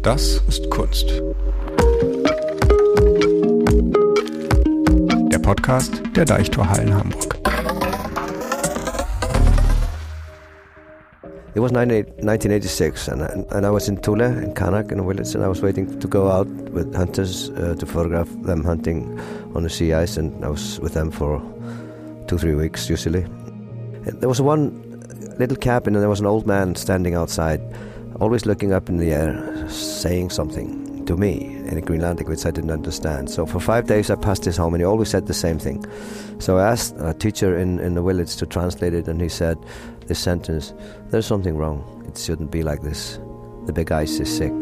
Das ist Kunst. Der Podcast der Deichtorhallen Hamburg. It was 1986 and I was in Tule, in Kanak, in a village, and I was waiting to go out with hunters to photograph them hunting on the sea ice, and I was with them for 2-3 weeks usually. There was one little cabin and there was an old man standing outside, always looking up in the air, saying something to me in Greenlandic which I didn't understand. So for 5 days I passed his home and he always said the same thing. So I asked a teacher in the village to translate it, and he said this sentence: "There's something wrong. It shouldn't be like this. The big ice is sick."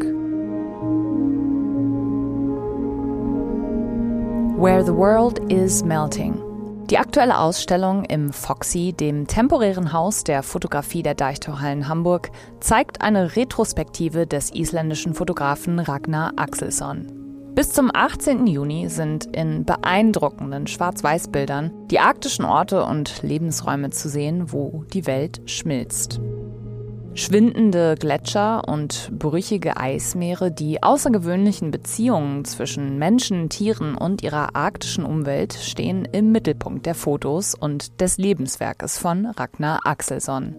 Where the World is Melting. Die aktuelle Ausstellung im Foxy, dem temporären Haus der Fotografie der Deichtorhallen Hamburg, zeigt eine Retrospektive des isländischen Fotografen Ragnar Axelsson. Bis zum 18. Juni sind in beeindruckenden Schwarz-Weiß-Bildern die arktischen Orte und Lebensräume zu sehen, wo die Welt schmilzt. Schwindende Gletscher und brüchige Eismeere, die außergewöhnlichen Beziehungen zwischen Menschen, Tieren und ihrer arktischen Umwelt stehen im Mittelpunkt der Fotos und des Lebenswerkes von Ragnar Axelsson.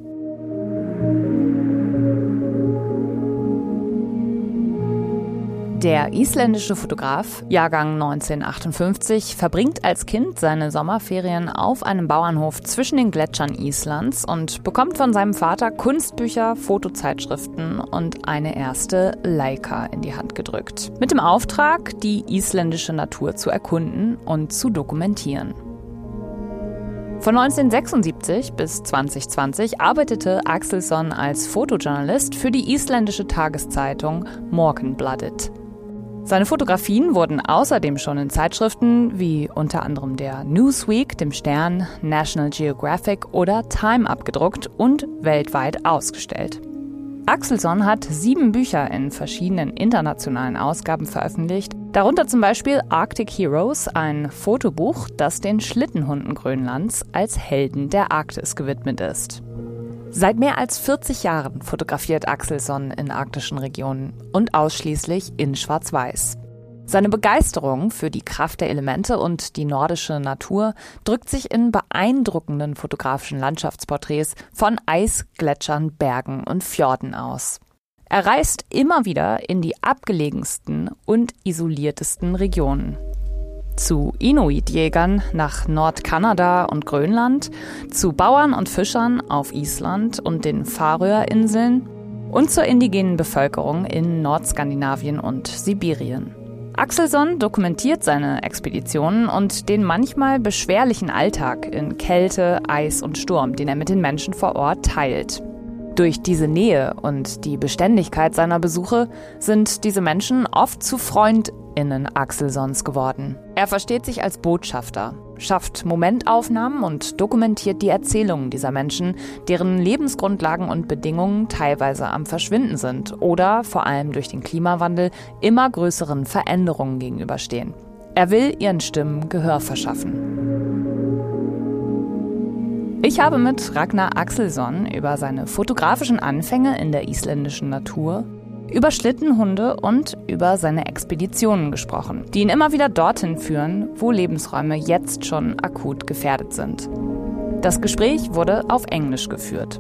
Der isländische Fotograf, Jahrgang 1958, verbringt als Kind seine Sommerferien auf einem Bauernhof zwischen den Gletschern Islands und bekommt von seinem Vater Kunstbücher, Fotozeitschriften und eine erste Leica in die Hand gedrückt. Mit dem Auftrag, die isländische Natur zu erkunden und zu dokumentieren. Von 1976 bis 2020 arbeitete Axelsson als Fotojournalist für die isländische Tageszeitung Morgunblaðið. Seine Fotografien wurden außerdem schon in Zeitschriften wie unter anderem der Newsweek, dem Stern, National Geographic oder Time abgedruckt und weltweit ausgestellt. Axelsson hat 7 Bücher in verschiedenen internationalen Ausgaben veröffentlicht, darunter zum Beispiel Arctic Heroes, ein Fotobuch, das den Schlittenhunden Grönlands als Helden der Arktis gewidmet ist. Seit mehr als 40 Jahren fotografiert Axelsson in arktischen Regionen und ausschließlich in Schwarz-Weiß. Seine Begeisterung für die Kraft der Elemente und die nordische Natur drückt sich in beeindruckenden fotografischen Landschaftsporträts von Eis, Gletschern, Bergen und Fjorden aus. Er reist immer wieder in die abgelegensten und isoliertesten Regionen. Zu Inuit-Jägern nach Nordkanada und Grönland, zu Bauern und Fischern auf Island und den Färöerinseln und zur indigenen Bevölkerung in Nordskandinavien und Sibirien. Axelsson dokumentiert seine Expeditionen und den manchmal beschwerlichen Alltag in Kälte, Eis und Sturm, den er mit den Menschen vor Ort teilt. Durch diese Nähe und die Beständigkeit seiner Besuche sind diese Menschen oft zu FreundInnen Axelssons geworden. Er versteht sich als Botschafter, schafft Momentaufnahmen und dokumentiert die Erzählungen dieser Menschen, deren Lebensgrundlagen und Bedingungen teilweise am Verschwinden sind oder vor allem durch den Klimawandel immer größeren Veränderungen gegenüberstehen. Er will ihren Stimmen Gehör verschaffen. Ich habe mit Ragnar Axelsson über seine fotografischen Anfänge in der isländischen Natur, über Schlittenhunde und über seine Expeditionen gesprochen, die ihn immer wieder dorthin führen, wo Lebensräume jetzt schon akut gefährdet sind. Das Gespräch wurde auf Englisch geführt.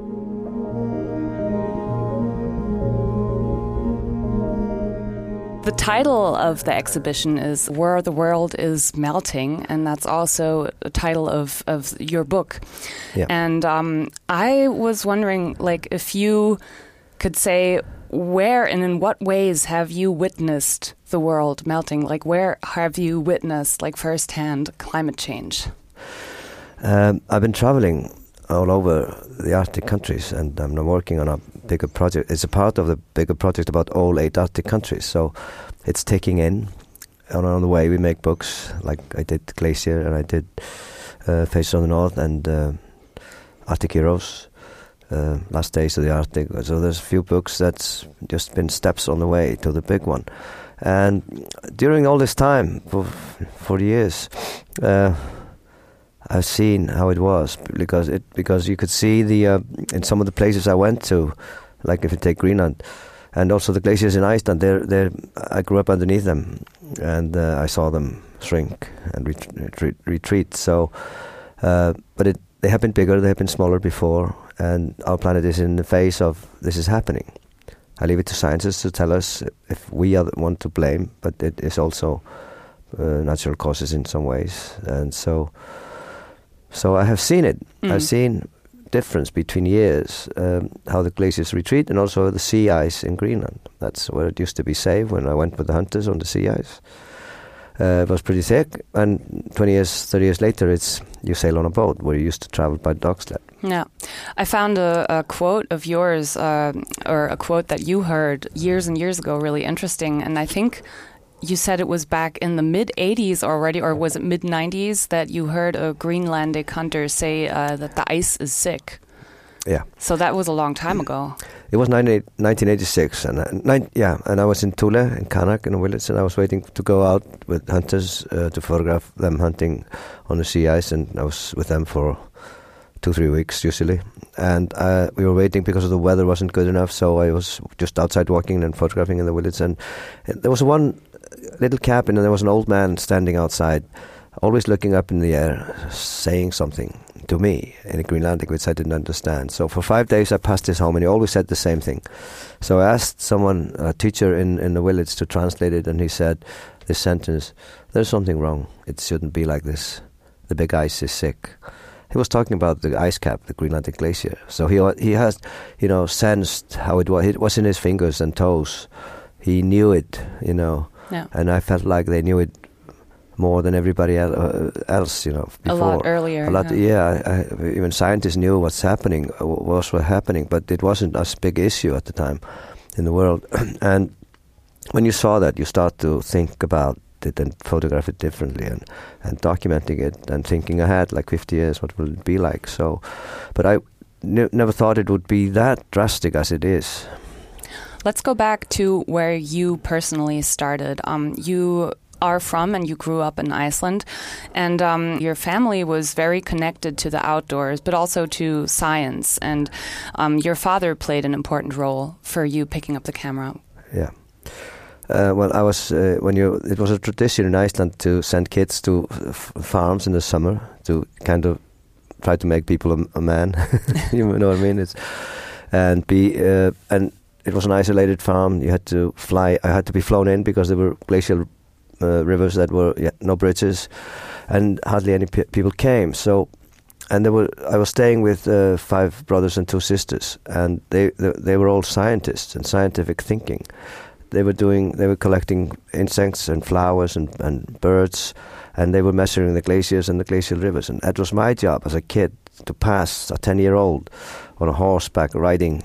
The title of the exhibition is Where the World is Melting, and that's also the title of your book. Yeah. And I was wondering, like, if you could say where and in what ways have you witnessed the world melting? Like, where have you witnessed, like, firsthand climate change? I've been traveling all over the Arctic countries, and I'm working on a bigger project. It's a part of the bigger project about all 8 Arctic countries, so it's taking in. And on the way we make books, like I did Glacier and I did Faces of the North and Arctic Heroes, Last Days of the Arctic. So there's a few books that's just been steps on the way to the big one. And during all this time, for years, I've seen how it was because you could see in some of the places I went to, like if you take Greenland, And also the glaciers in Iceland, I grew up underneath them, and I saw them shrink and retreat. So, but they have been bigger, they have been smaller before, and our planet is in the phase of this is happening. I leave it to scientists to tell us if we are the one to blame, but it is also natural causes in some ways. And so I have seen it. I've seen difference between years, how the glaciers retreat, and also the sea ice in Greenland. That's where it used to be safe when I went with the hunters on the sea ice. It was pretty thick, and 20 years, 30 years later, you sail on a boat where you used to travel by dog sled. Yeah. I found a quote of yours, or a quote that you heard years and years ago, really interesting, and I think you said it was back in the mid-'80s already, or was it mid-'90s, that you heard a Greenlandic hunter say that the ice is sick. Yeah. So that was a long time ago. It was 1986, and I was in Thule, in Qaanaaq, in a village, and I was waiting to go out with hunters to photograph them hunting on the sea ice, and I was with them for 2-3 weeks usually. And we were waiting because the weather wasn't good enough, so I was just outside walking and photographing in the village, and there was one little cabin, and there was an old man standing outside, always looking up in the air, saying something to me in Greenlandic, which I didn't understand. So for 5 days I passed his home, and he always said the same thing. So I asked someone, a teacher in the village, to translate it, and he said this sentence: "There's something wrong. It shouldn't be like this. The big ice is sick." He was talking about the ice cap, the Greenlandic glacier. So he has, sensed how it was. It was in his fingers and toes. He knew it, Yeah. And I felt like they knew it more than everybody else, before. A lot earlier. Even scientists knew what's happening, but it wasn't a big issue at the time in the world. And when you saw that, you start to think about it and photograph it differently, and documenting it and thinking ahead, like 50 years, what will it be like? So, but I never thought it would be that drastic as it is. Let's go back to where you personally started. You are from and you grew up in Iceland, and your family was very connected to the outdoors, but also to science, and your father played an important role for you picking up the camera. Yeah. Well, I was it was a tradition in Iceland to send kids to farms in the summer to kind of try to make people a man. You know what I mean? And it was an isolated farm. You had to fly. I had to be flown in because there were glacial rivers that were no bridges, and hardly any people came. So, and I was staying with 5 brothers and 2 sisters, and they were all scientists and scientific thinking. They were collecting insects and flowers and birds, and they were measuring the glaciers and the glacial rivers. And that was my job as a kid, to pass a 10-year-old on a horseback riding,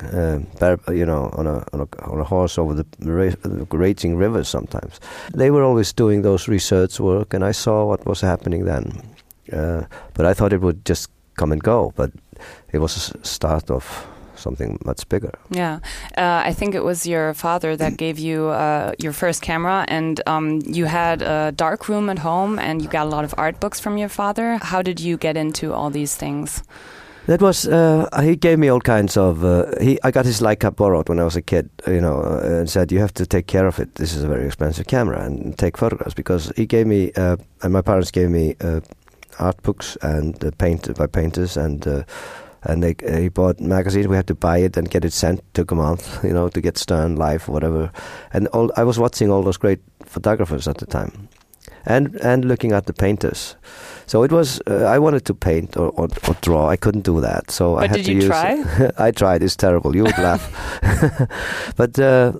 on a horse over the raging rivers sometimes. They were always doing those research work, and I saw what was happening then. But I thought it would just come and go, but it was a start of something much bigger. Yeah. I think it was your father that gave you your first camera, and you had a dark room at home, and you got a lot of art books from your father. How did you get into all these things? That was, he gave me all kinds of, I got his Leica borrowed when I was a kid, and said, you have to take care of it. This is a very expensive camera, and take photographs, because he gave me, and my parents gave me art books and painted by painters, and he bought magazines. We had to buy it and get it sent. Took a month, to get Stern, Life, whatever. And I was watching all those great photographers at the time, and looking at the painters. So it was. I wanted to paint or draw. I couldn't do that. So I had did you try? I tried. It's terrible. You would laugh. But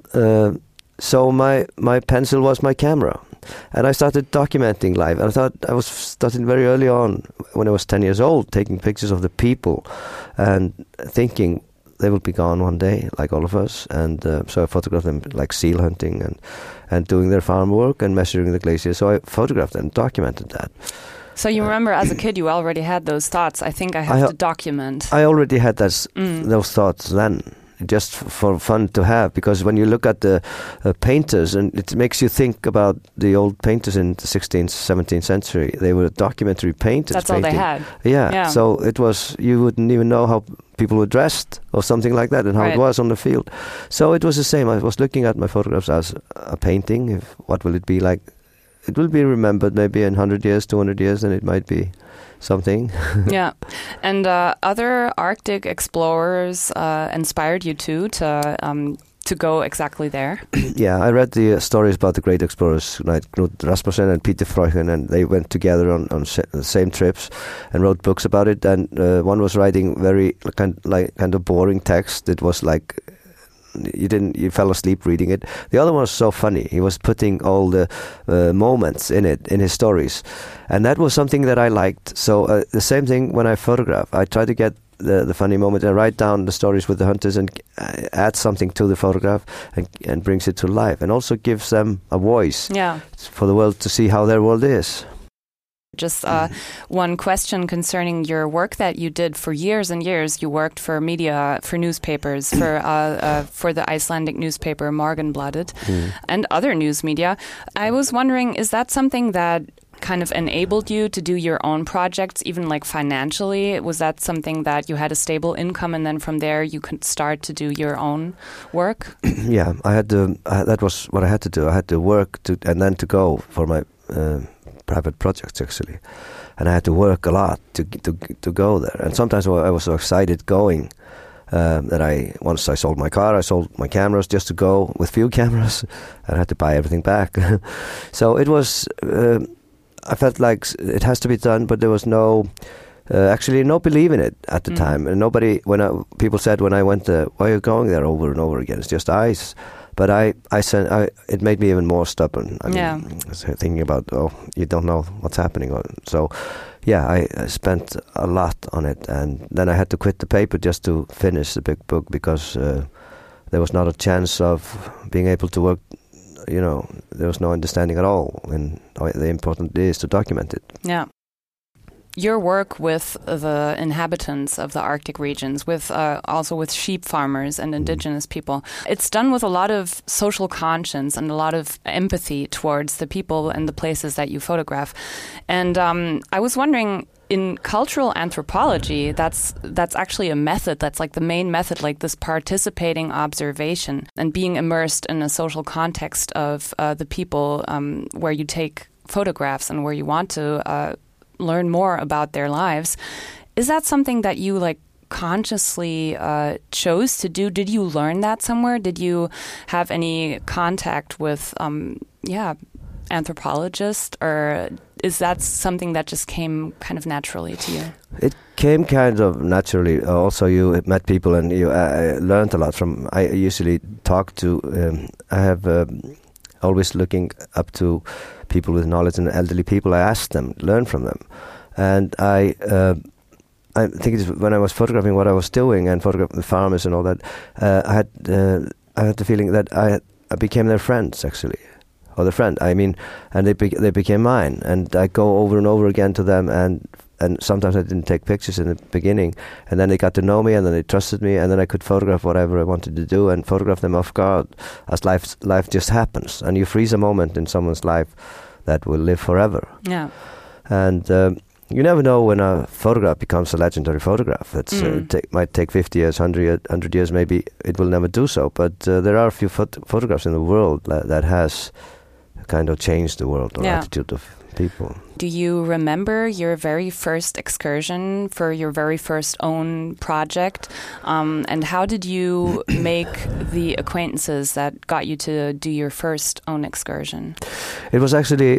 so my pencil was my camera. And I started documenting life. And I was starting very early on, when I was 10 years old, taking pictures of the people and thinking they will be gone one day, like all of us. And so I photographed them, like seal hunting and doing their farm work and measuring the glaciers. So I photographed them, documented that. So you remember, as a kid, you already had those thoughts. I think I have to document. I already had those thoughts then. Just for fun to have, because when you look at the painters, and it makes you think about the old painters in the 16th, 17th century. They were documentary painters. That's painting. all they had. Yeah. So it was, you wouldn't even know how people were dressed or something like that, and how it was on the field. So it was the same. I was looking at my photographs as a painting. What will it be like? It will be remembered maybe in 100 years, 200 years, and it might be something. Yeah. And other Arctic explorers inspired you too to go exactly there? Yeah, I read the stories about the great explorers like Knud Rasmussen and Peter Freuchen, and they went together on the same trips and wrote books about it. And one was writing very kind of boring text. It was like you fell asleep reading it. The other one was so funny. He was putting all the moments in his stories, and that was something that I liked. So the same thing when I photograph. I try to get the funny moment and write down the stories with the hunters and add something to the photograph and brings it to life, and also gives them a voice for the world to see how their world is. Just one question concerning your work that you did for years and years. You worked for media, for newspapers, for the Icelandic newspaper Morgunblaðið and other news media. I was wondering, is that something that kind of enabled you to do your own projects, even like financially? Was that something that you had a stable income, and then from there you could start to do your own work? Yeah, I had to. That was what I had to do. I had to work and then to go for my private projects actually, and I had to work a lot to go there. And sometimes I was so excited going that once I sold my car, I sold my cameras just to go with few cameras, and I had to buy everything back. So it was. I felt like it has to be done, but there was no belief in it at the time. And nobody, people said when I went there, why are you going there over and over again? It's just ice. But it made me even more stubborn. I mean, thinking about, you don't know what's happening. So, yeah, I spent a lot on it. And then I had to quit the paper just to finish the big book, because there was not a chance of being able to work. There was no understanding at all in how important it is to document it. Yeah. Your work with the inhabitants of the Arctic regions, also with sheep farmers and indigenous people, it's done with a lot of social conscience and a lot of empathy towards the people and the places that you photograph. And I was wondering, in cultural anthropology, that's actually a method, that's like the main method, like this participating observation and being immersed in a social context of the people where you take photographs and where you want to learn more about their lives. Is that something that you consciously chose to do? Did you learn that somewhere? Did you have any contact with anthropologists, or is that something that just came kind of naturally to you? It came kind of naturally. Also, you met people and you learned a lot from. I usually talk to. I have always looking up to people with knowledge and elderly people. I ask them, learn from them, and I think it's when I was photographing what I was doing and photographing the farmers and all that. I had the feeling that I became their friends actually. Or the friend, and they became mine, and I go over and over again to them, and sometimes I didn't take pictures in the beginning, and then they got to know me, and then they trusted me, and then I could photograph whatever I wanted to do, and photograph them off guard, as life just happens, and you freeze a moment in someone's life that will live forever. Yeah, and you never know when a photograph becomes a legendary photograph. It might take 50 years, 100 years, maybe it will never do so, but there are a few photographs in the world that has kind of changed the world or attitude of people. Do you remember your very first excursion for your very first own project? And how did you make the acquaintances that got you to do your first own excursion? It was actually,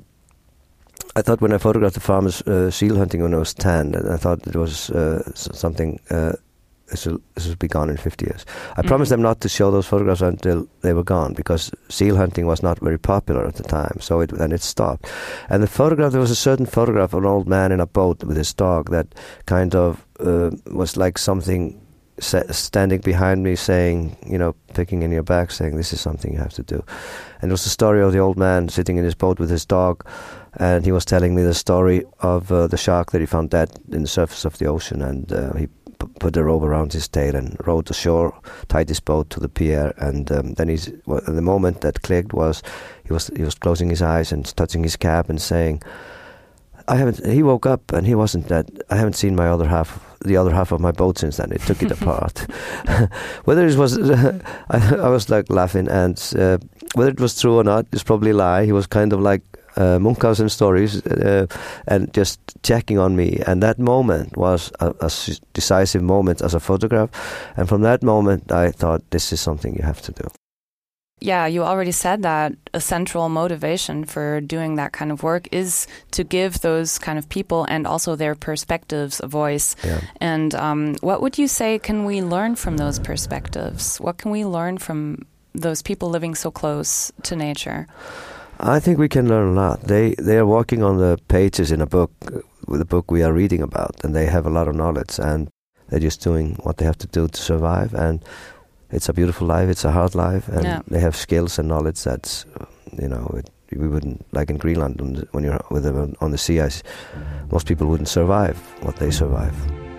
I thought when I photographed the farmers seal hunting when I was 10, I thought it was something... This will be gone in 50 years. I promised them not to show those photographs until they were gone, because seal hunting was not very popular at the time. So then it stopped. And there was a certain photograph of an old man in a boat with his dog that kind of was like something standing behind me saying, picking in your back, saying, this is something you have to do. And it was the story of the old man sitting in his boat with his dog, and he was telling me the story of the shark that he found dead in the surface of the ocean, and he put a rope around his tail and rowed ashore, tied his boat to the pier, and then the moment that clicked was he was closing his eyes and touching his cap and saying, He woke up and he wasn't dead. I haven't seen the other half of my boat since then. It took it apart. Whether it was, I was like laughing, and whether it was true or not, it's probably a lie. He was kind of like Munchausen stories, and just checking on me. And that moment was a decisive moment as a photograph. And from that moment, I thought, this is something you have to do. Yeah, you already said that a central motivation for doing that kind of work is to give those kind of people and also their perspectives a voice. Yeah. And what would you say can we learn from those perspectives? What can we learn from those people living so close to nature? I think we can learn a lot. They are walking on the pages in a book, with the book we are reading about, and they have a lot of knowledge, and they're just doing what they have to do to survive. And it's a beautiful life, it's a hard life, and they have skills and knowledge that's, we wouldn't, like in Greenland, when you're with them on the sea ice, most people wouldn't survive what they survive.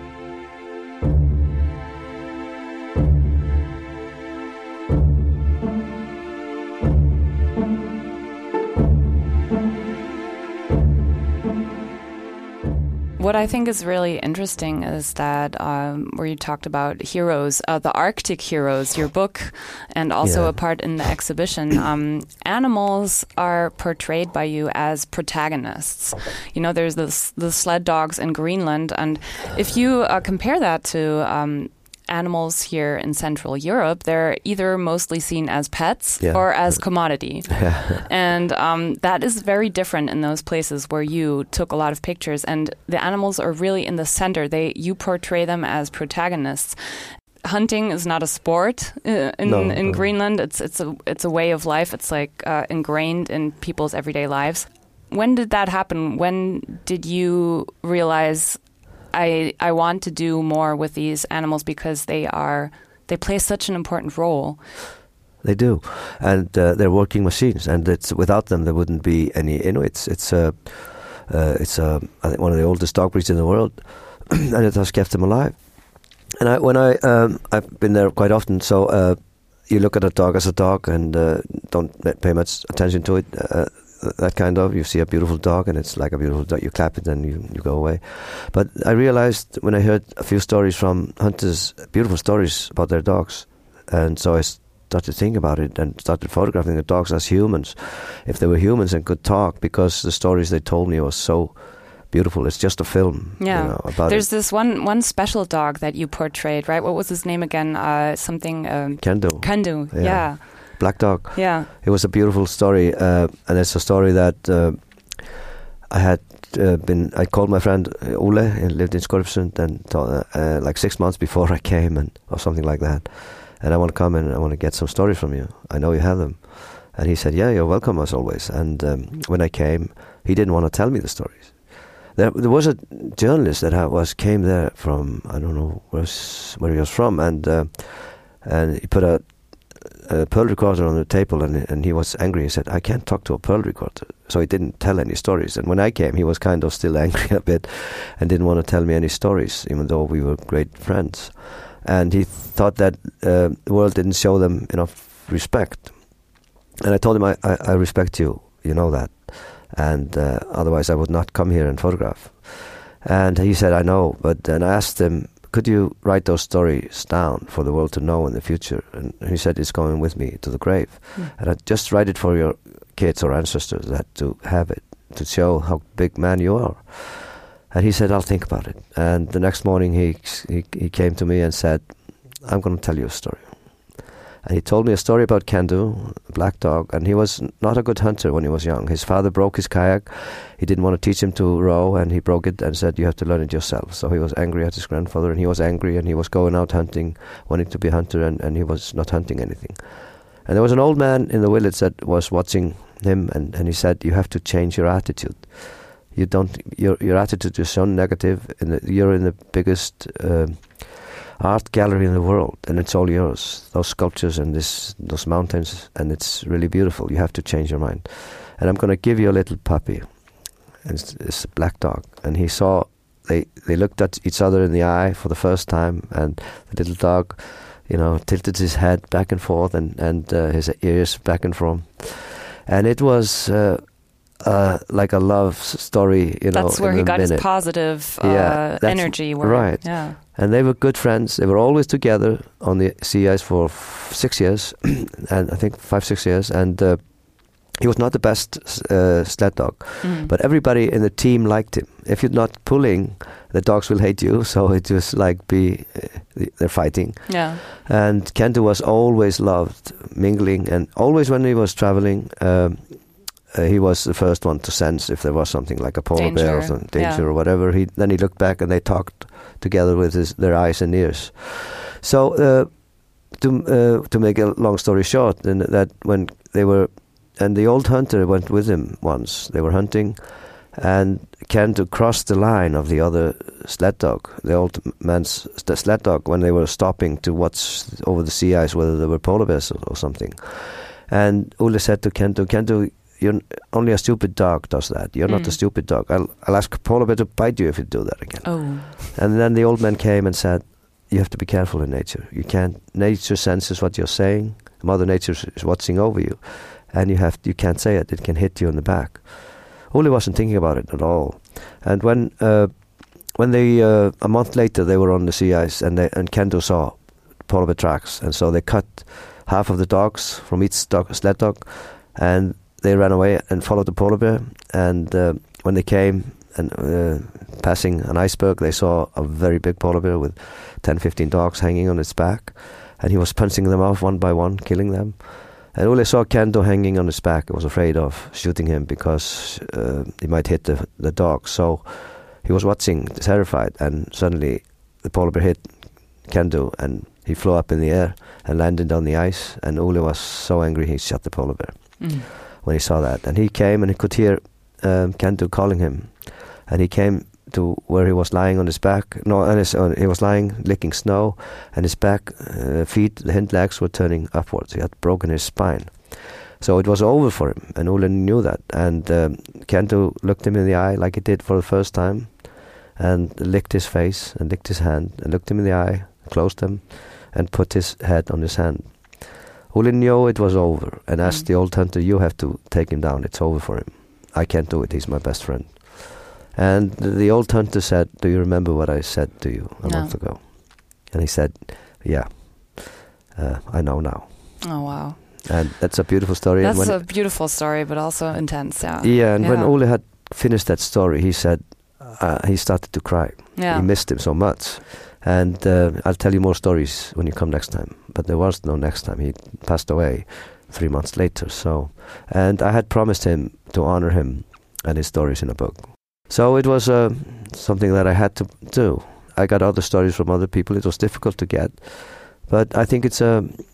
What I think is really interesting is that where you talked about heroes, the Arctic heroes, your book, and also a part in the exhibition, animals are portrayed by you as protagonists. There's the sled dogs in Greenland, and if you compare that to animals here in Central Europe, they're either mostly seen as pets or as commodity. And that is very different in those places where you took a lot of pictures, and the animals are really in the center. You portray them as protagonists. Hunting is not a sport in Greenland. It's a way of life. It's like ingrained in people's everyday lives. When did that happen? When did you realize I want to do more with these animals because they play such an important role? They do, and they're working machines, and without them there wouldn't be any Inuits. It's I think one of the oldest dog breeds in the world, and it has kept them alive. And I've been there quite often, so you look at a dog as a dog and don't pay much attention to it. That kind of, you see a beautiful dog and it's like a beautiful dog, you clap it and you go away. But I realized when I heard a few stories from hunters, beautiful stories about their dogs, and so I started thinking about it and started photographing the dogs as humans, if they were humans and could talk, because the stories they told me was so beautiful. It's just a film. Yeah. About There's this one special dog that you portrayed, right? What was his name again? Kendu. Kendu, yeah. Black dog. Yeah. It was a beautiful story, and it's a story that I had I called my friend Ole, he lived in Skorpsund, and like 6 months before I came, or something like that. And I want to come and I want to get some stories from you. I know you have them. And he said, yeah, you're welcome as always. And when I came, he didn't want to tell me the stories. There was a journalist that came there from, I don't know where he was from, and he put a pearl recorder on the table, and he was angry. He said, I can't talk to a pearl recorder. So he didn't tell any stories. And when I came, he was kind of still angry a bit and didn't want to tell me any stories, even though we were great friends. And he thought that the world didn't show them enough respect. And I told him, I respect you, you know that. And otherwise I would not come here and photograph. And he said, I know. But then I asked him, could you write those stories down for the world to know in the future? And he said, it's going with me to the grave. And I just write it for your kids or ancestors, that to have it, to show how big man you are. And he said, I'll think about it. And the next morning he came to me and said, I'm going to tell you a story. And he told me a story about Kendu, a black dog, and he was not a good hunter when he was young. His father broke his kayak. He didn't want to teach him to row, and he broke it and said, you have to learn it yourself. So he was angry at his grandfather, and he was angry, and he was going out hunting, wanting to be a hunter, and he was not hunting anything. And there was an old man in the village that was watching him, and he said, you have to change your attitude. Your attitude is so negative, you're in the biggest art gallery in the world, and it's all yours. Those sculptures and those mountains, and it's really beautiful. You have to change your mind. And I'm going to give you a little puppy. And it's a black dog. And he saw, they looked at each other in the eye for the first time, and the little dog, tilted his head back and forth, and his ears back and forth. And it was like a love story, That's where he got his positive energy. Right. Yeah. And they were good friends. They were always together on the sea ice for 6 years, and I think 5-6 years. And he was not the best sled dog, but everybody in the team liked him. If you're not pulling, the dogs will hate you. So it was like they're fighting. Yeah. And Kento was always loved mingling, and always when he was traveling, he was the first one to sense if there was something like a polar bear or some danger or whatever. Then he looked back and they talked together with their eyes and ears. So to make a long story short, and that when they were, and the old hunter went with him once. They were hunting, and Kento crossed the line of the other sled dog, the old man's sled dog, when they were stopping to watch over the sea ice whether there were polar bears or something. And Ole said to Kento, you're only a stupid dog does that. You're not a stupid dog. I'll ask a polar bear to bite you if you do that again. Oh. And then the old man came and said, you have to be careful in nature. You can't. Nature senses what you're saying. Mother Nature is watching over you, and you can't say it. It can hit you in the back. Ole wasn't thinking about it at all. And when they a month later they were on the sea ice, and Kento saw polar bear tracks, and so they cut half of the dogs from each sled dog, and they ran away and followed the polar bear. And when they came and passing an iceberg, they saw a very big polar bear with 10-15 dogs hanging on its back, and he was punching them off one by one, killing them. And Ole saw Kento hanging on his back and was afraid of shooting him because he might hit the dog. So he was watching, terrified, and suddenly the polar bear hit Kento, and he flew up in the air and landed on the ice. And Ole was so angry he shot the polar bear when he saw that. And he came and he could hear Kento calling him. And he came to where he was lying on his back. He was lying, licking snow, and his back feet, the hind legs, were turning upwards. He had broken his spine. So it was over for him, and Ole knew that. And Kento looked him in the eye like he did for the first time, and licked his face, and licked his hand, and looked him in the eye, closed them, and put his head on his hand. Ole knew it was over, and asked the old hunter, you have to take him down, it's over for him. I can't do it, he's my best friend. And the old hunter said, do you remember what I said to you a month ago? And he said, yeah, I know now. Oh, wow. And that's a beautiful story. That's a beautiful story, but also intense, yeah. Yeah, and when Ole had finished that story, he said, he started to cry. Yeah. He missed him so much. And I'll tell you more stories when you come next time. But there was no next time. He passed away 3 months later. And I had promised him to honor him and his stories in a book. So it was something that I had to do. I got other stories from other people. It was difficult to get. But I think it's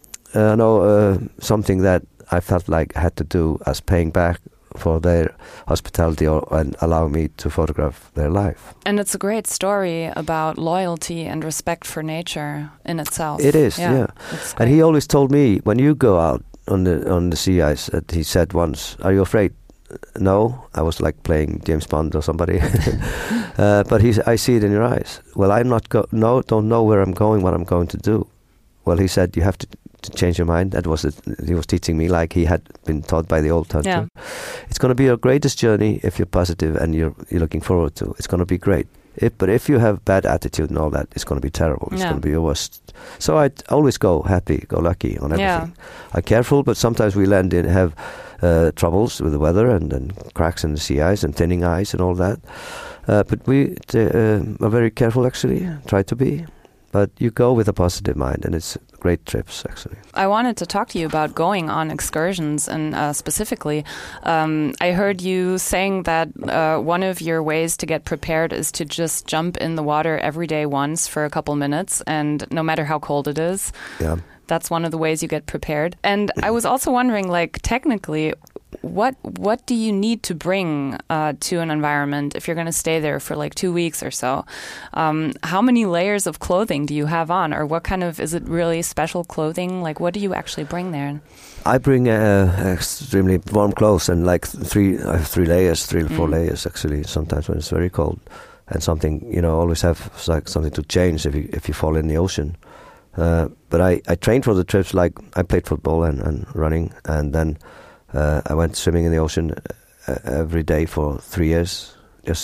something that I felt like I had to do as paying back for their hospitality and allow me to photograph their life. And it's a great story about loyalty and respect for nature in itself. It is, yeah. And he always told me, when you go out on the sea ice, he said once, are you afraid? No, I was like playing James Bond or somebody. But I see it in your eyes. Well, don't know where I'm going, what I'm going to do. Well, he said, you have to change your mind. That was it. He was teaching me like he had been taught by the old hunter. Yeah. It's going to be your greatest journey if you're positive and you're looking forward to. It's going to be great. But if you have bad attitude and all that, it's going to be terrible. It's going to be your worst. So I always go happy, go lucky on everything. Yeah. I'm careful, but sometimes we have troubles with the weather and cracks in the sea ice and thinning ice and all that. But we are very careful, actually, try to be. But you go with a positive mind, and it's great trips, actually. I wanted to talk to you about going on excursions, and specifically, I heard you saying that one of your ways to get prepared is to just jump in the water every day once for a couple minutes, and no matter how cold it is. Yeah. That's one of the ways you get prepared. And I was also wondering, like, technically, what do you need to bring to an environment if you're going to stay there for like 2 weeks or so? How many layers of clothing do you have on, or what kind of, is it really special clothing? Like, what do you actually bring there? I bring extremely warm clothes and like I have 3 layers, 3 or 4 layers actually. Sometimes when it's very cold, and something, always have like something to change if you fall in the ocean. But I trained for the trips. Like I played football and running, and then I went swimming in the ocean every day for 3 years.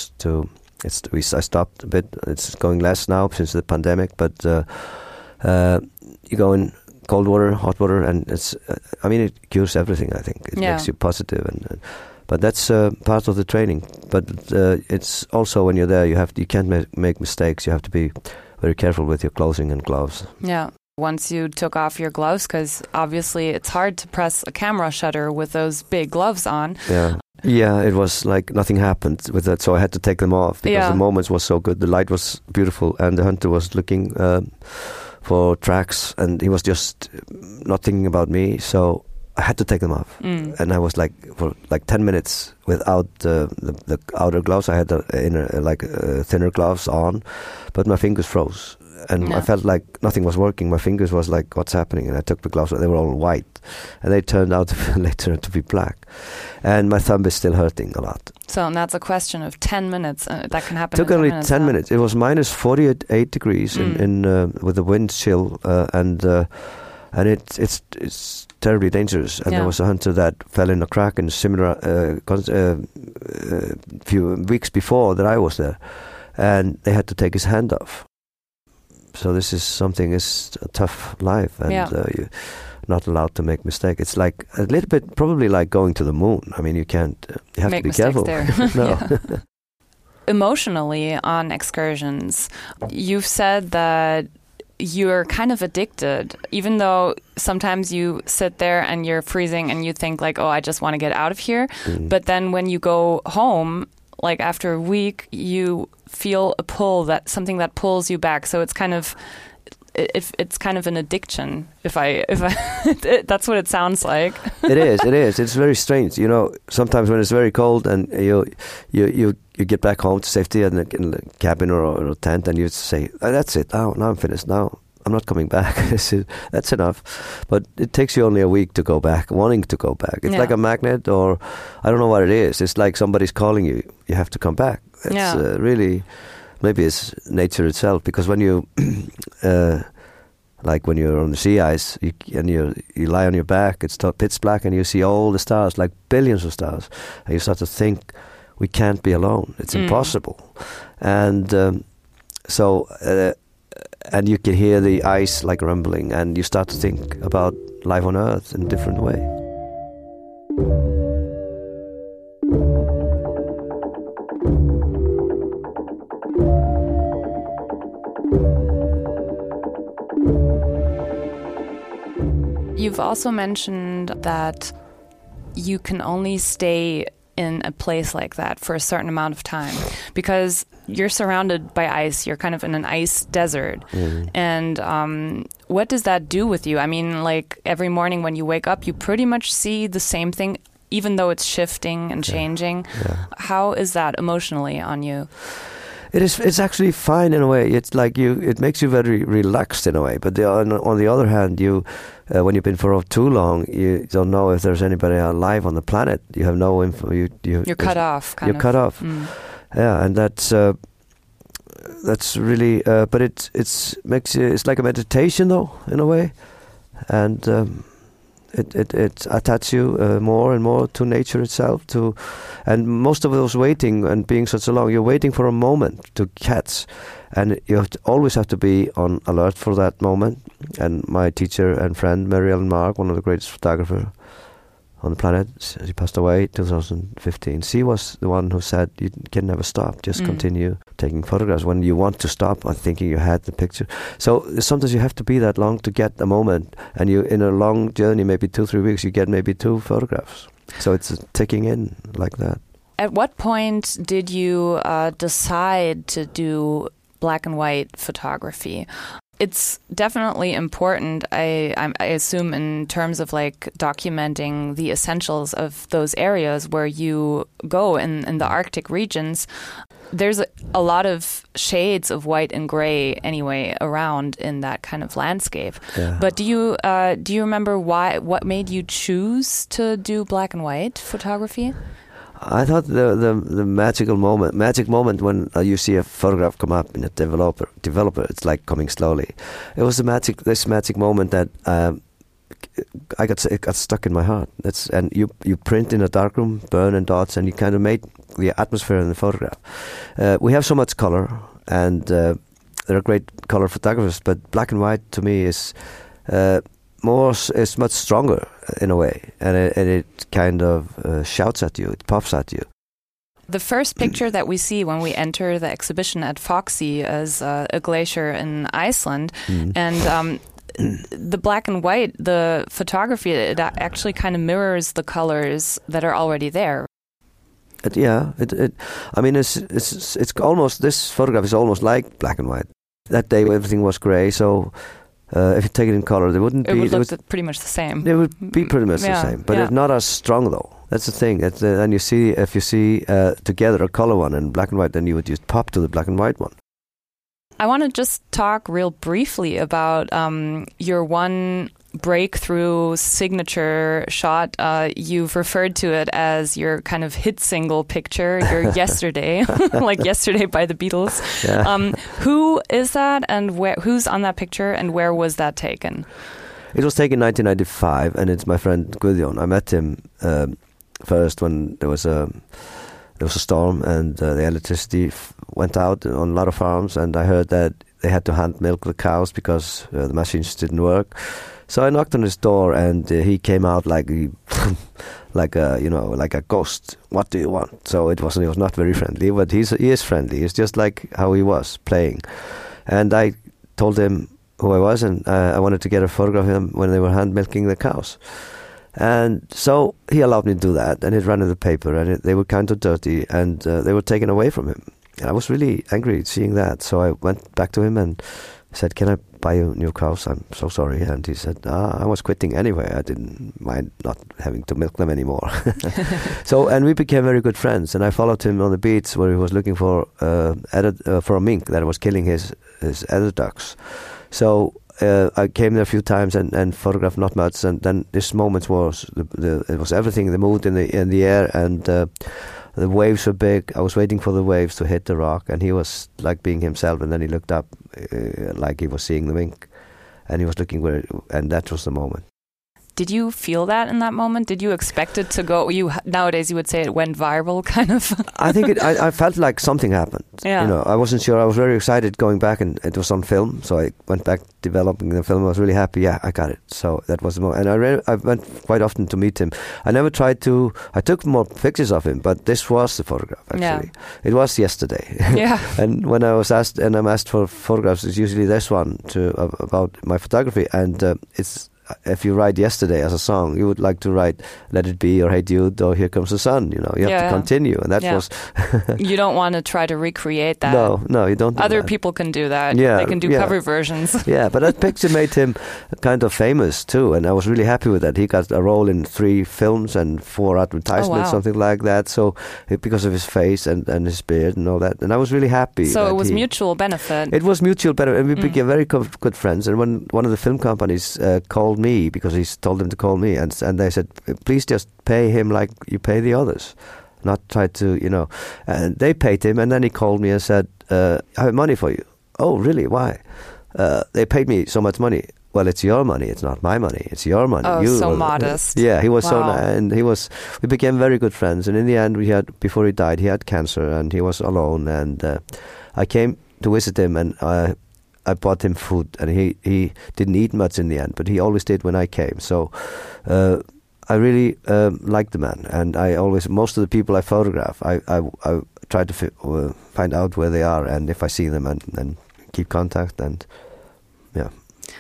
I stopped a bit. It's going less now since the pandemic, but you go in cold water, hot water, and it cures everything. I think it makes you positive, but that's part of the training. But it's also when you're there, you can't make mistakes. You have to be very careful with your clothing and gloves. Yeah. Once you took off your gloves, because obviously it's hard to press a camera shutter with those big gloves on. Yeah, it was like nothing happened with that, so I had to take them off because the moments was so good. The light was beautiful, and the hunter was looking for tracks, and he was just not thinking about me, so I had to take them off. And I was for 10 minutes without the outer gloves. I had the inner, thinner gloves on, but my fingers froze. And I felt like nothing was working. My fingers was like, what's happening? And I took the gloves, they were all white. And they turned out later to be black. And my thumb is still hurting a lot. So that's a question of 10 minutes. That can happen. It took only 10 minutes. It was minus 48 degrees in with the wind chill. And it's terribly dangerous. And there was a hunter that fell in a crack in a similar few weeks before that I was there. And they had to take his hand off. So this is something, it's a tough life, and you're not allowed to make mistakes. It's like a little bit, probably like going to the moon. I mean, you have to be careful. There. Emotionally, on excursions, you've said that you're kind of addicted, even though sometimes you sit there and you're freezing and you think like, oh, I just want to get out of here. But then when you go home, like after a week, you feel a pull, something that pulls you back. So it's kind of an addiction. If I that's what it sounds like. It is. It's very strange. You know, sometimes when it's very cold and you get back home to safety in the cabin or a tent, and you say, oh, that's it. Now I'm finished. Now I'm not coming back. That's enough. But it takes you only a week to go back, wanting to go back. It's like a magnet, or I don't know what it is. It's like somebody's calling you. You have to come back. It's really, maybe it's nature itself. Because when you, like when you're on the sea ice, you lie on your back, it's pitch black, and you see all the stars, like billions of stars, and you start to think, we can't be alone. It's impossible. And and you can hear the ice like rumbling, and you start to think about life on Earth in a different way. You've also mentioned that you can only stay in a place like that for a certain amount of time because you're surrounded by ice. You're kind of in an ice desert. And what does that do with you? I mean, like every morning when you wake up, you pretty much see the same thing, even though it's shifting and changing. How is that emotionally on you? It's actually fine in a way. It's like it makes you very relaxed in a way. But on the other hand, when you've been for too long, you don't know if there's anybody alive on the planet. You have no info. You're cut off. You're cut off. Yeah, and that's really. But it's makes you. It's like a meditation, though, in a way, and. It attaches you more and more to nature itself. And most of those waiting and being such a long, you're waiting for a moment to catch, and you always have to be on alert for that moment. And my teacher and friend Mary Ellen Mark, one of the greatest photographers on the planet, she passed away in 2015. She was the one who said you can never stop, just continue taking photographs. When you want to stop, I'm thinking you had the picture. So sometimes you have to be that long to get a moment, and you in a long journey, maybe 2-3 weeks, you get maybe 2 photographs. So it's ticking in like that. At what point did you decide to do black and white photography? It's definitely important, I assume, in terms of like documenting the essentials of those areas where you go in the Arctic regions. There's a lot of shades of white and gray anyway around in that kind of landscape. Yeah. But do you remember what made you choose to do black and white photography? I thought the magic moment when you see a photograph come up in a developer, it's like coming slowly. It was this magic moment that it got stuck in my heart. And you print in a darkroom, burn and dots, and you kind of made the atmosphere in the photograph. We have so much color, and there are great color photographers, but black and white to me is much stronger in a way, and it kind of shouts at you, it pops at you. The first picture that we see when we enter the exhibition at Foxy is a glacier in Iceland, and the black and white, the photography, it actually kind of mirrors the colors that are already there. I mean, it's almost, this photograph is almost like black and white. That day everything was grey, so if you take it in color, it would look pretty much the same. It would be pretty much the same, but it's not as strong though. That's the thing. And if you see together a color one and black and white, then you would just pop to the black and white one. I want to just talk real briefly about your one breakthrough signature shot. You've referred to it as your kind of hit single picture, your Yesterday, like Yesterday by the Beatles. Yeah. Who is that, and who's on that picture, and where was that taken? It was taken in 1995, and it's my friend Guðjón. I met him first when there was a storm and the electricity went out on a lot of farms, and I heard that they had to hand milk the cows because the machines didn't work. So I knocked on his door, and he came out like a ghost. What do you want? So he was not very friendly, but he is friendly. It's just like how he was playing. And I told him who I was, and I wanted to get a photograph of him when they were hand milking the cows. And so he allowed me to do that, and it ran in the paper, and they were kind of dirty, and they were taken away from him. And I was really angry seeing that, so I went back to him and said, "Can I buy you new cows? I'm so sorry." And he said, "I was quitting anyway. I didn't mind not having to milk them anymore." And we became very good friends, and I followed him on the beach where he was looking for a mink that was killing his other ducks. So I came there a few times and photographed not much, and then this moment was it was everything, the mood in the air, and the waves were big. I was waiting for the waves to hit the rock, and he was like being himself, and then he looked up like he was seeing the mink, and he was looking and that was the moment. Did you feel that in that moment? Did you expect it to go? Nowadays you would say it went viral, kind of. I think I felt like something happened. Yeah. I wasn't sure. I was very excited going back, and it was on film. So I went back developing the film. I was really happy. Yeah, I got it. So that was the moment. And I went quite often to meet him. I never tried to. I took more pictures of him, but this was the photograph actually. Yeah. It was Yesterday. Yeah. And when I'm asked for photographs, it's usually this one about my photography, and it's. If you write Yesterday as a song, you would like to write Let It Be or Hey Jude or Here Comes the Sun. You have to continue, and that was. You don't want to try to recreate that. No, you don't. Other people can do that. Yeah, they can do cover versions. Yeah, but that picture made him kind of famous too, and I was really happy with that. He got a role in 3 films and 4 advertisements, something like that. So because of his face and his beard and all that, and I was really happy. So it was mutual benefit. It was mutual benefit, and we became very good friends. And when one of the film companies called me, because he told them to call me, and they said, "Please just pay him like you pay the others, not try to, And they paid him, and then he called me and said, "I have money for you." "Oh, really? Why?" "They paid me so much money." "Well, it's your money. It's not my money. It's your money." Oh, so modest. Yeah, he was so nice, and we became very good friends. And in the end, before he died, he had cancer, and he was alone. And I came to visit him, and I bought him food, and he didn't eat much in the end, but he always did when I came. So I really like the man, and most of the people I photograph, I try to find out where they are, and if I see them, and keep contact, and yeah.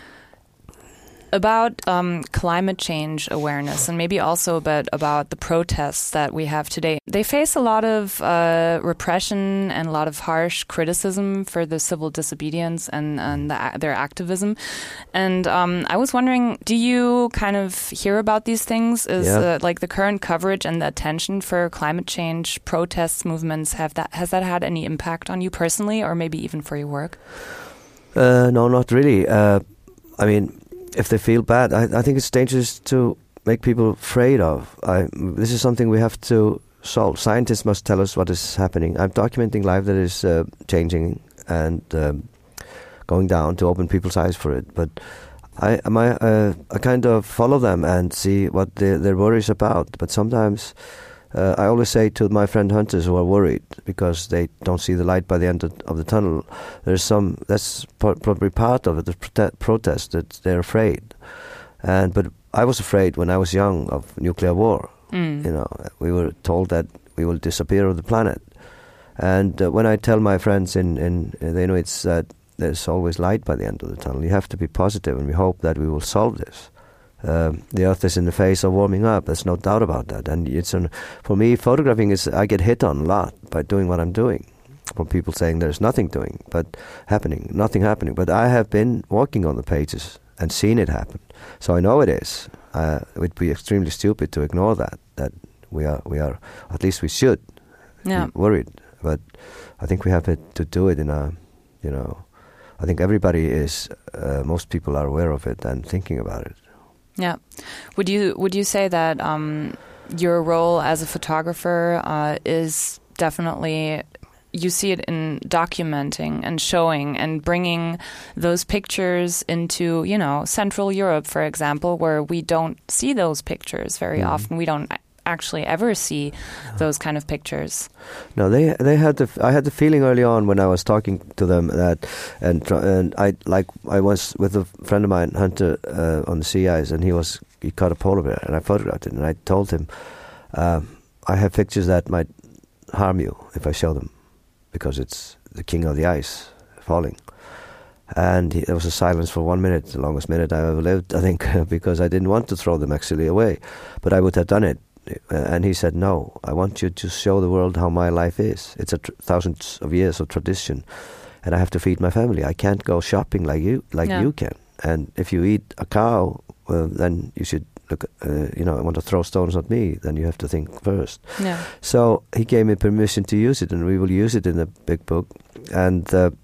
About climate change awareness, and maybe also a bit about the protests that we have today. They face a lot of repression and a lot of harsh criticism for the civil disobedience and their activism. And I was wondering, do you kind of hear about these things? Like the current coverage and the attention for climate change protests, movements, has that had any impact on you personally, or maybe even for your work? No, not really. I mean, if they feel bad, I think it's dangerous to make people afraid of. This is something we have to solve. Scientists must tell us what is happening. I'm documenting life that is changing and going down to open people's eyes for it. But I kind of follow them and see what their worries about. But sometimes I always say to my friend hunters who are worried because they don't see the light by the end of the tunnel, that's probably part of it, the protest, that they're afraid. But I was afraid when I was young of nuclear war. We were told that we will disappear of the planet. And when I tell my friends in the Inuits that there's always light by the end of the tunnel, you have to be positive, and we hope that we will solve this. The Earth is in the phase of warming up. There's no doubt about that. And for me, photographing I get hit on a lot by doing what I'm doing. From people saying there's nothing nothing happening. But I have been walking on the pages and seen it happen. So I know it is. It would be extremely stupid to ignore that we are, at least we should be worried. But I think we have to do it in a, I think everybody is, most people are aware of it and thinking about it. Yeah. Would you say that your role as a photographer is definitely, you see it in documenting and showing and bringing those pictures into, Central Europe, for example, where we don't see those pictures very often. We don't actually ever see those kind of pictures. No, I had the feeling early on when I was talking to them that, and I was with a friend of mine, Hunter, on the sea ice, and he caught a polar bear, and I photographed it, and I told him, I have pictures that might harm you if I show them, because it's the king of the ice falling. And there was a silence for 1 minute, the longest minute I ever lived, I think, because I didn't want to throw them actually away, but I would have done it. And he said, no, I want you to show the world how my life is. It's thousands of years of tradition, and I have to feed my family. I can't go shopping like you can. And if you eat a cow, then you should look. Want to throw stones at me, then you have to think first. Yeah. So he gave me permission to use it, and we will use it in the big book. And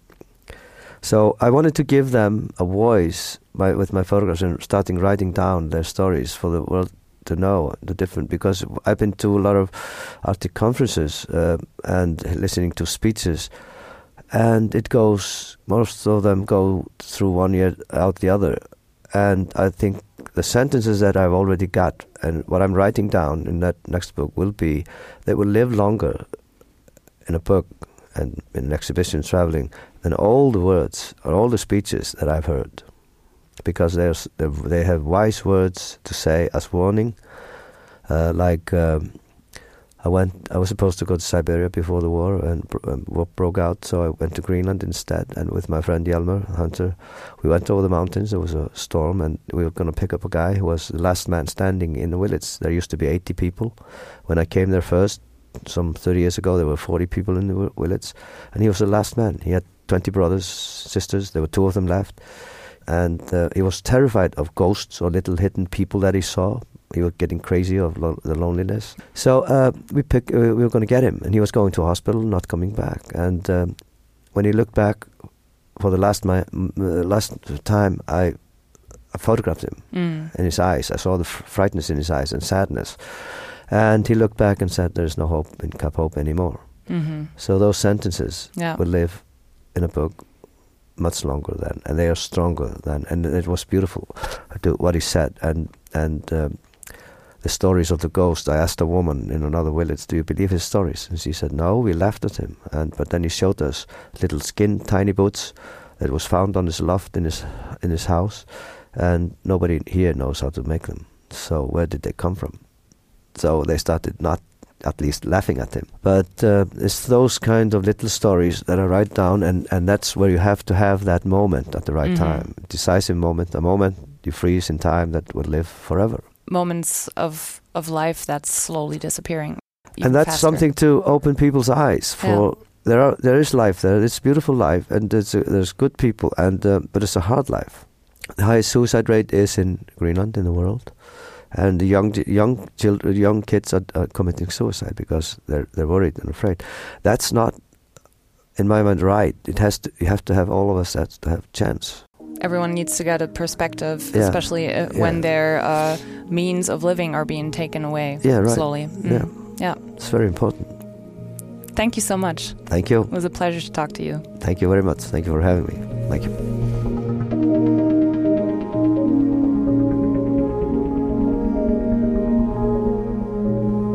so I wanted to give them a voice with my photographs and starting writing down their stories for the world to know the different, because I've been to a lot of Arctic conferences and listening to speeches, and most of them go through one ear out the other, and I think the sentences that I've already got and what I'm writing down in that next book they will live longer in a book and in an exhibition traveling than all the words or all the speeches that I've heard. Because they have wise words to say as warning. I was supposed to go to Siberia before the war, and war broke out, so I went to Greenland instead. And with my friend Hjalmar Hunter, we went over the mountains. There was a storm, and we were going to pick up a guy who was the last man standing in the village. There used to be 80 people. When I came there first, some 30 years ago, there were 40 people in the village, and he was the last man. He had 20 brothers, sisters. There were 2 of them left. And he was terrified of ghosts or little hidden people that he saw. He was getting crazy of the loneliness. So we were going to get him, and he was going to a hospital, not coming back. And when he looked back for the last time, I photographed him in his eyes. I saw the frightness in his eyes and sadness. And he looked back and said, "There's no hope in Cap Hope anymore." Mm-hmm. So those sentences will live in a book much longer than, and they are stronger than, and it was beautiful what he said, and the stories of the ghost. I asked a woman in another village, "Do you believe his stories?" And she said, "No, we laughed at him." But then he showed us little tiny boots that was found on his loft in his house, and nobody here knows how to make them. So where did they come from? So they started not at least laughing at him. But it's those kind of little stories that I write down, and that's where you have to have that moment at the right time, decisive moment, a moment you freeze in time that will live forever. Moments of life that's slowly disappearing. And that's faster. Something to open people's eyes for. Yeah. There is life there. It's beautiful life, and there's good people, but it's a hard life. The highest suicide rate is in Greenland in the world. And the young kids are committing suicide because they're worried and afraid. That's not, in my mind, right. You have to have all of us to have a chance. Everyone needs to get a perspective, especially when their means of living are being taken away slowly. Yeah, it's very important. Thank you so much. Thank you. It was a pleasure to talk to you. Thank you very much. Thank you for having me. Thank you.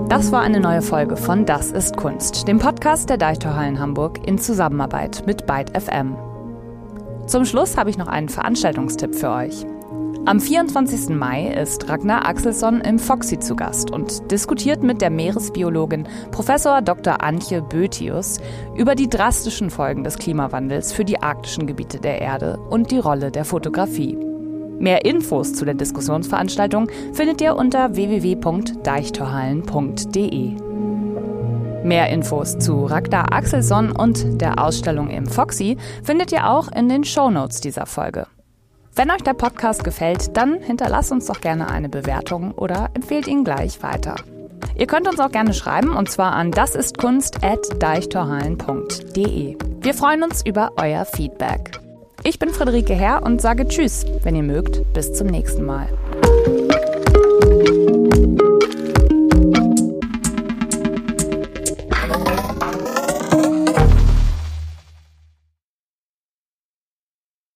Das war eine neue Folge von Das ist Kunst, dem Podcast der Deichtorhallen Hamburg in Zusammenarbeit mit Byte FM. Zum Schluss habe ich noch einen Veranstaltungstipp für euch. Am 24. Mai ist Ragnar Axelsson im Foxy zu Gast und diskutiert mit der Meeresbiologin Prof. Dr. Antje Bötius über die drastischen Folgen des Klimawandels für die arktischen Gebiete der Erde und die Rolle der Fotografie. Mehr Infos zu der Diskussionsveranstaltung findet ihr unter www.deichtorhallen.de. Mehr Infos zu Ragnar Axelsson und der Ausstellung im Foxy findet ihr auch in den Shownotes dieser Folge. Wenn euch der Podcast gefällt, dann hinterlasst uns doch gerne eine Bewertung oder empfehlt ihn gleich weiter. Ihr könnt uns auch gerne schreiben, und zwar an dasistkunst@deichtorhallen.de. Wir freuen uns über euer Feedback. Ich bin Friederike Herr und sage Tschüss, wenn ihr mögt, bis zum nächsten Mal.